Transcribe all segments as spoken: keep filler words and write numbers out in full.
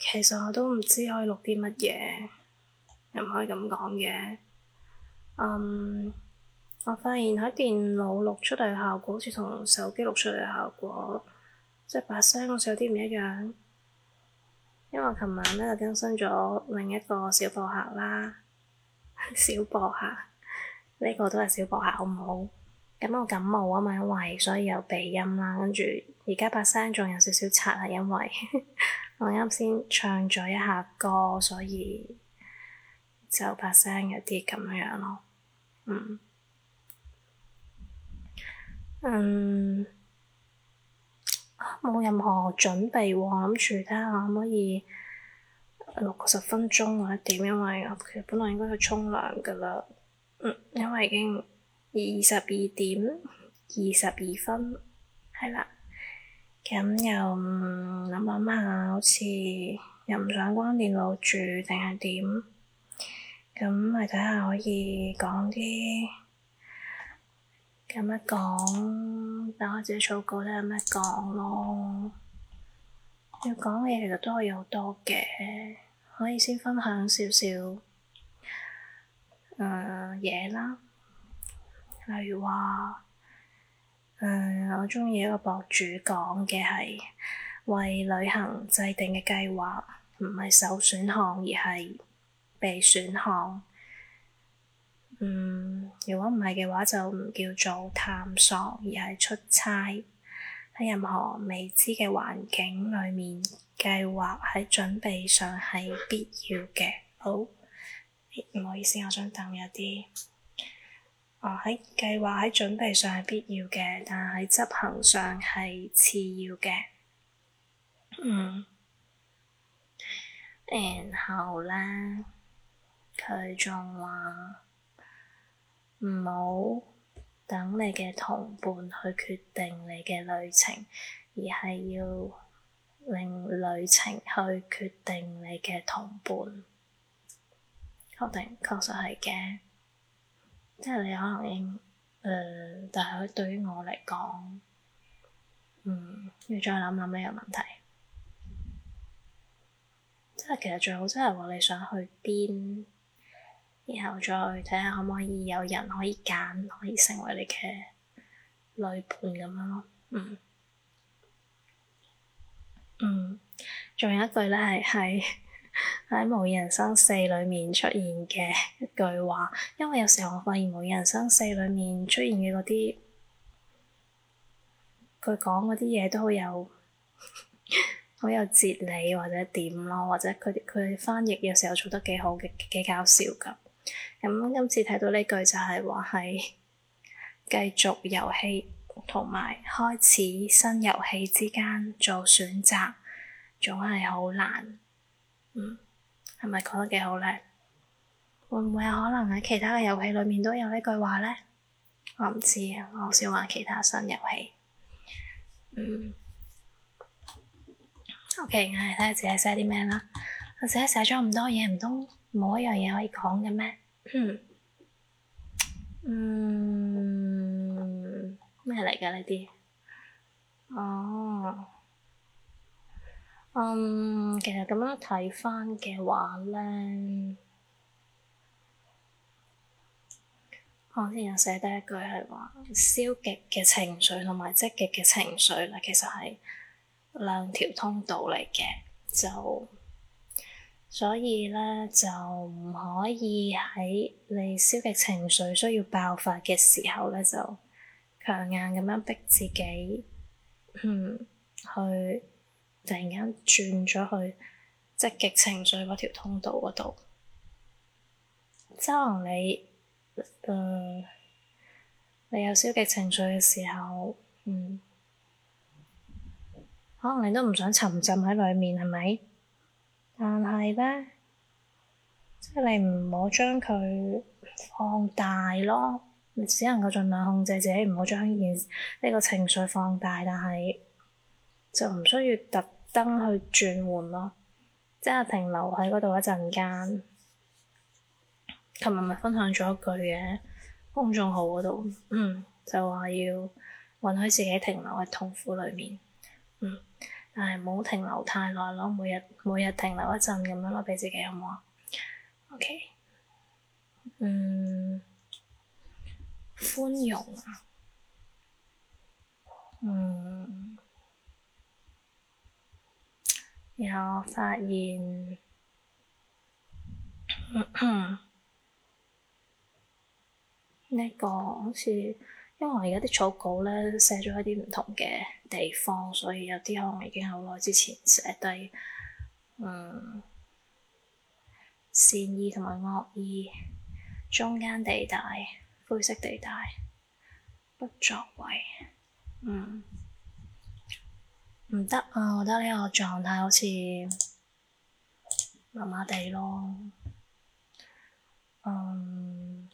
其實我都唔知可以錄啲乜嘢，又唔可以咁講嘅。嗯，我發現喺電腦錄出嚟嘅效果，好似同手機錄出嚟嘅效果，即係把聲好似有啲唔一樣。因為我琴晚咧就更新咗另一個小播客啦，小播客呢個都係小播客，好唔好？咁我感冒啊嘛，因為所以有鼻音啦，跟住而家把聲仲有少少擦，係因為我啱先唱咗一下歌，所以就把聲有啲咁樣咯。嗯，嗯，冇任何準備喎，諗住睇下可唔可以錄個十分鐘或者點，因為我其實本來應該去沖涼噶啦。嗯，因為已經二十二點二十二分，係啦。咁又諗諗下，好似又唔想關電腦住定係點？咁咪睇下可以講啲咁乜講，等我自己草稿睇下乜講咯。要講嘅嘢其實都可以好多嘅，可以先分享少少誒嘢啦，例如話誒、呃、我鍾意一個博主講嘅係為旅行制定嘅計劃，唔係首選項而係備選項。嗯，如果唔係嘅話，就唔叫做探索，而係出差。喺任何未知嘅環境裏面，計劃喺準備上係必要嘅。好，唔好意思，我想等有啲。哦，喺計劃喺準備上係必要嘅，但係執行上係次要嘅。嗯，然後咧，佢仲話唔好等你嘅同伴去決定你嘅旅程，而係要令旅程去決定你嘅同伴。確定，確實係嘅。即係你可能應誒、呃，但係對於我嚟講，嗯，要再諗諗呢個問題。即係其實最好，即係話你想去邊，然後再睇下可唔可以有人可以揀，可以成為你嘅旅伴咁樣咯。嗯，嗯，仲有一句咧係係喺《模擬人生四》裏面出現嘅一句話，因為有時候我發現《模擬人生四》裏面出現嘅嗰啲，佢講嗰啲嘢都好有好有哲理或者點咯，或者佢佢翻譯有時候做得幾好嘅，幾搞笑㗎。咁今次睇到呢句就係話係繼續遊戲同埋開始新遊戲之間做選擇，總係好難。嗯，係咪講得幾好咧？會唔會有可能喺其他嘅遊戲裏面都有呢句話咧？我唔知啊，我好少玩其他新遊戲。嗯。OK，我嚟睇下自己寫啲咩啦。我自己寫咗咁多嘢，唔通冇一樣嘢可以講嘅咩？嗯，咩嚟㗎呢啲？哦，嗯，其實咁樣睇返嘅話咧，我之前有寫低一句係話，消極嘅情緒同埋積極嘅情緒咧，其實係兩條通道嚟嘅，就所以咧就唔可以喺你消極情緒需要爆發嘅時候咧，就強硬咁樣逼自己，嗯，去突然間轉咗去積極情緒嗰條通道嗰度。即可能你，嗯，你有消極情緒嘅時候，嗯，可能你都唔想沉浸喺裡面，係咪？但係咧，即係你唔好將佢放大咯，你只能夠盡量控制自己，唔好將呢件呢個情緒放大，但係就唔需要特登去轉換咯，即係停留喺嗰度一陣間。琴日咪分享咗一句嘅公眾號嗰度，嗯，就話要允許自己停留喺痛苦裡面，嗯。 但係唔好停留太耐咯，每日每日停留一陣咁樣咯，俾自己好唔好啊？OK，嗯，寬容啊，嗯，然後我發現，呢個好似，因為我而家啲草稿咧寫咗一啲唔同嘅地方，所以有啲可能已經好耐之前寫低，嗯，善意同埋惡意，中間地帶，灰色地帶，不作為，嗯，唔得啊！我覺得呢個狀態好似麻麻地咯，嗯。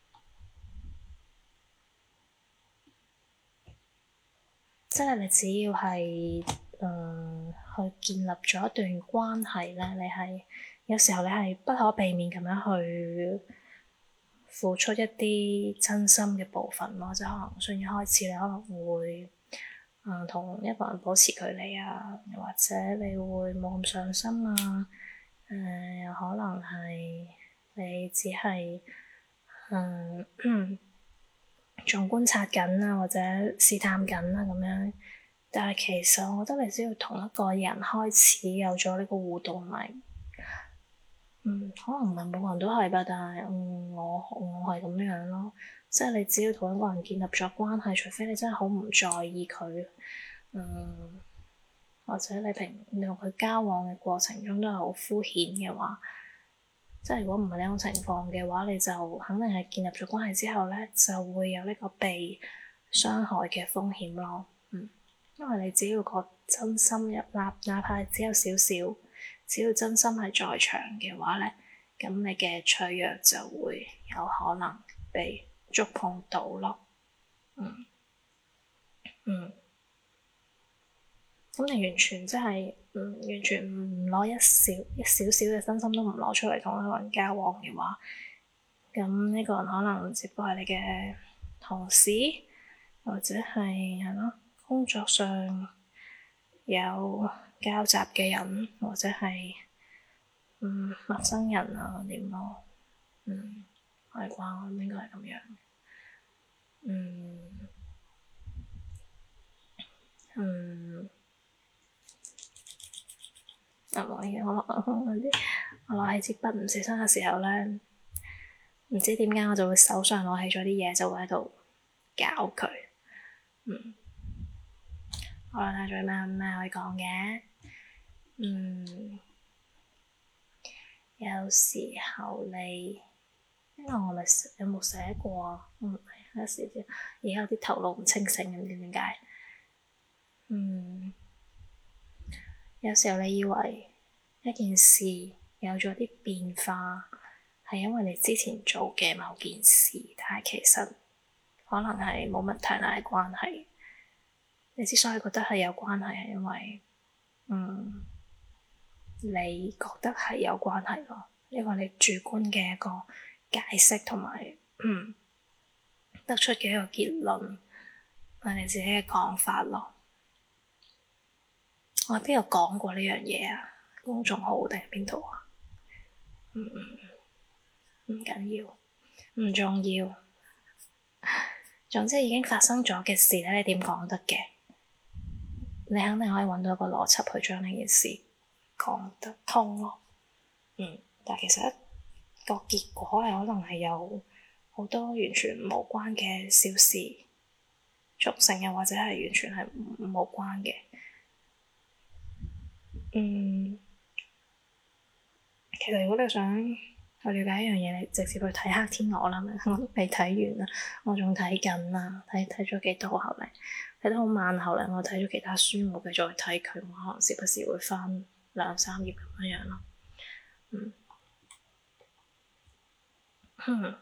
即係你只要係誒、呃、去建立咗一段關係咧，你係有時候你係不可避免咁樣去付出一啲真心嘅部分咯，即係可能從一開始你可能會誒同、呃、一個人保持距離啊，又或者你會冇咁上心啊，誒、呃、又可能係你只係誒。呃仲觀察緊啊，或者試探緊啊咁樣，但係其實我覺得你只要同一個人開始有咗呢個互動，咪嗯，可能唔係每個人都係吧，但係嗯，我我係咁樣咯，即係你只要同一個人建立咗關係，除非你真係好唔在意佢，嗯，或者你平你同佢交往嘅過程中都係好敷衍嘅話。即係如果唔係呢種情況嘅話，你就肯定係建立咗關係之後咧，就會有呢個被傷害嘅風險咯。嗯，因為你只要個真心一粒，哪怕只有少少，只要真心係在場嘅話咧，咁你嘅脆弱就會有可能被觸碰到咯。嗯嗯。咁你完全即係，嗯，完全唔攞一少一少少嘅真心都唔攞出嚟同一個人交往嘅話，咁呢個人可能只不過係你嘅同事，或者係係咯工作上有交集嘅人，或者係嗯陌生人啊點咯，嗯係啩，應該係咁樣，嗯嗯。啊！我我我啲我攞起支筆唔小心嘅時候咧，唔知點解我就會手上攞起咗啲嘢，就會喺度搞佢。嗯，好啦，睇下仲有咩咩可以講嘅。嗯，有時候你，因為我咪有冇寫過啊？嗯，有時啲而家有啲頭腦唔清醒，唔知點解。嗯，有時候你以為一件事有咗啲變化，係因為你之前做嘅某件事，但係其實可能係冇乜太大嘅關係。你之所以覺得係有關係，係因為，嗯，你覺得係有關係咯，呢個你主觀嘅一個解釋同埋，嗯，得出嘅一個結論，係你自己嘅講法咯。我喺邊度講過呢樣嘢啊？公眾號定係邊度啊？嗯，唔緊要，唔重要。總之已經發生咗嘅事咧，你點講得嘅？你肯定可以揾到一個邏輯去將呢件事講得通咯。嗯，但係其實一個結果係可能係有好多完全無關嘅小事促成，又或者係完全係冇關嘅。嗯，其實如果你想去了解一樣嘢，你直接去睇黑天鵝啦，我都未睇完啊，我仲睇緊啊，睇睇咗幾多後嚟，睇得好慢，後嚟我睇咗其他書，冇繼續去睇佢，我可能時不時會翻兩三頁咁樣樣咯。嗯，哼，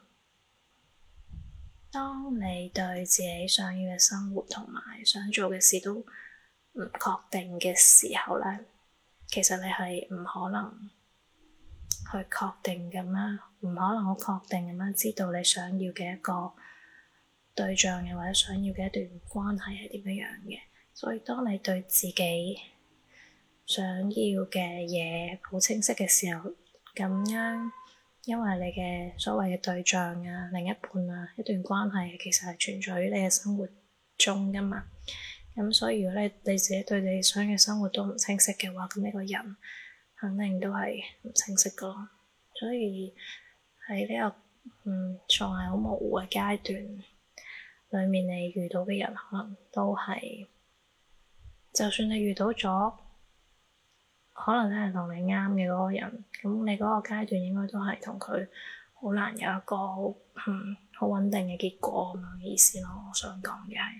當你對自己想要嘅生活同埋想做嘅事都唔確定嘅時候咧，其實你係唔可能去確定咁樣，唔可能好確定咁樣知道你想要嘅一個對象，又或者想要嘅一段關係係點樣樣嘅。所以當你對自己想要嘅嘢好清晰嘅時候，咁樣因為你嘅所謂嘅對象啊、另一半啊、一段關係其實係存在於你嘅生活中噶嘛。咁所以如果你你自己對你想嘅生活都唔清晰嘅話，咁呢個人肯定都係唔清晰噶咯。所以喺呢個嗯仲係好模糊嘅階段裏面，你遇到嘅人可能都係，就算你遇到咗，可能咧係同你啱嘅嗰個人，咁你嗰個階段應該都係同佢好難有一個好嗯好穩定嘅結果咁樣嘅意思咯。我想講嘅係，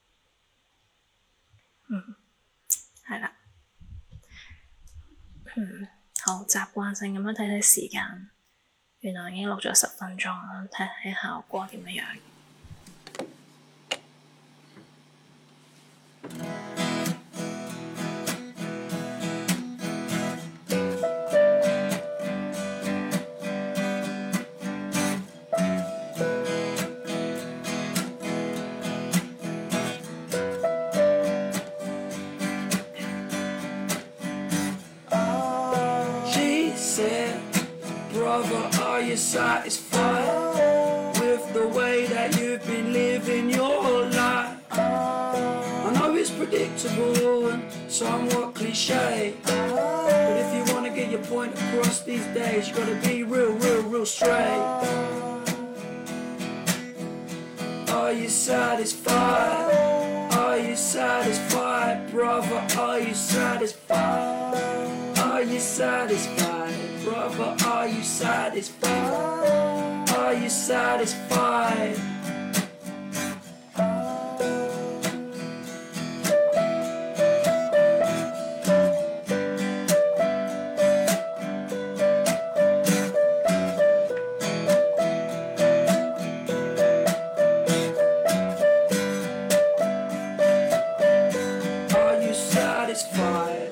嗯，係啦，嗯，好習慣性咁樣睇睇時間，原來已經錄咗十分鐘啦，睇睇效果點樣樣。 Brother, are you satisfied with the way that you've been living your life? I know it's predictable and somewhat cliche, but if you want to get your point across these days, you gotta be real, real, real straight. Are you satisfied? Are you satisfied, brother? Are you satisfied? Are you satisfied, brother? Are you satisfied? Are you satisfied? Are you satisfied?